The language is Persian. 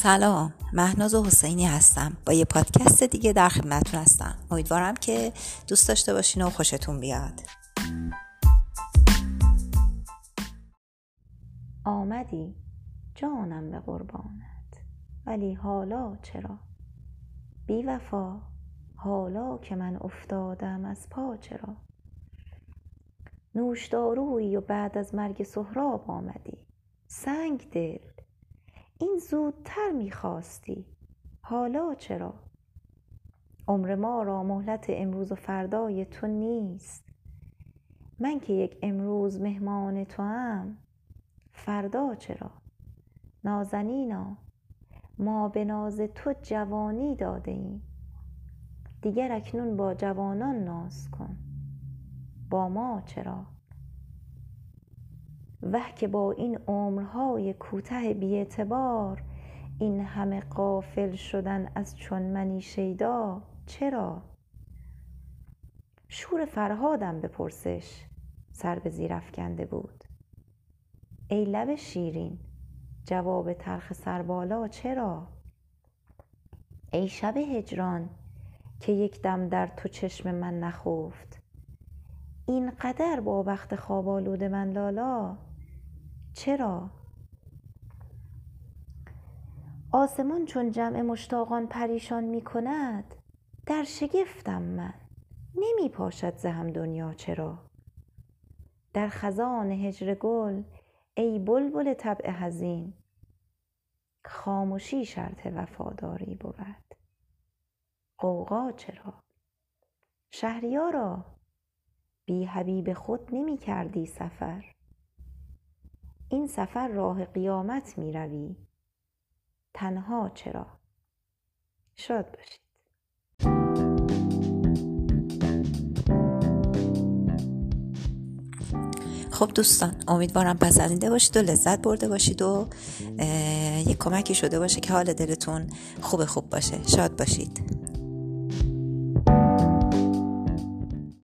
سلام، مهناز حسینی هستم. با یه پادکست دیگه در خدمتتون هستم. امیدوارم که دوست داشته باشین و خوشتون بیاد. آمدی جانم به قربانت، ولی حالا چرا؟ بی وفا حالا که من افتادم از پا چرا؟ نوشدارویی و بعد از مرگ سهراب آمدی. سنگ دل این زودتر میخواستی، حالا چرا؟ عمر ما را مهلت امروز و فردای تو نیست. من که یک امروز مهمان توام، فردا چرا؟ نازنینا ما به ناز تو جوانی داده ایم، دیگر اکنون با جوانان ناز کن، با ما چرا؟ وه که با این عمرهای کوته بی اعتبار، این همه غافل شدن از چون منی شیدا چرا؟ شور فرهادم بپرسش سر به زیر افکنده بود. ای لب شیرین جواب تلخ سربالا چرا؟ ای شب هجران که یک دم در تو چشم من نخفت، اینقدر با بخت خواب آلود من لالا چرا؟ آسمان چون جمع مشتاقان پریشان می کند، در شگفتم من نمی پاشد ز هم دنیا چرا؟ در خزان هجر گل ای بلبل طبع حزین، خاموشی شرط وفاداری بود، غوغا چرا؟ شهریارا بی حبیب خود نمی کردی سفر، این سفر راه قیامت می روی، تنها چرا؟ شاد باشید. خب دوستان، امیدوارم پسندیده باشید و لذت برده باشید و یک کمکی شده باشه که حال دلتون خوب باشه. شاد باشید.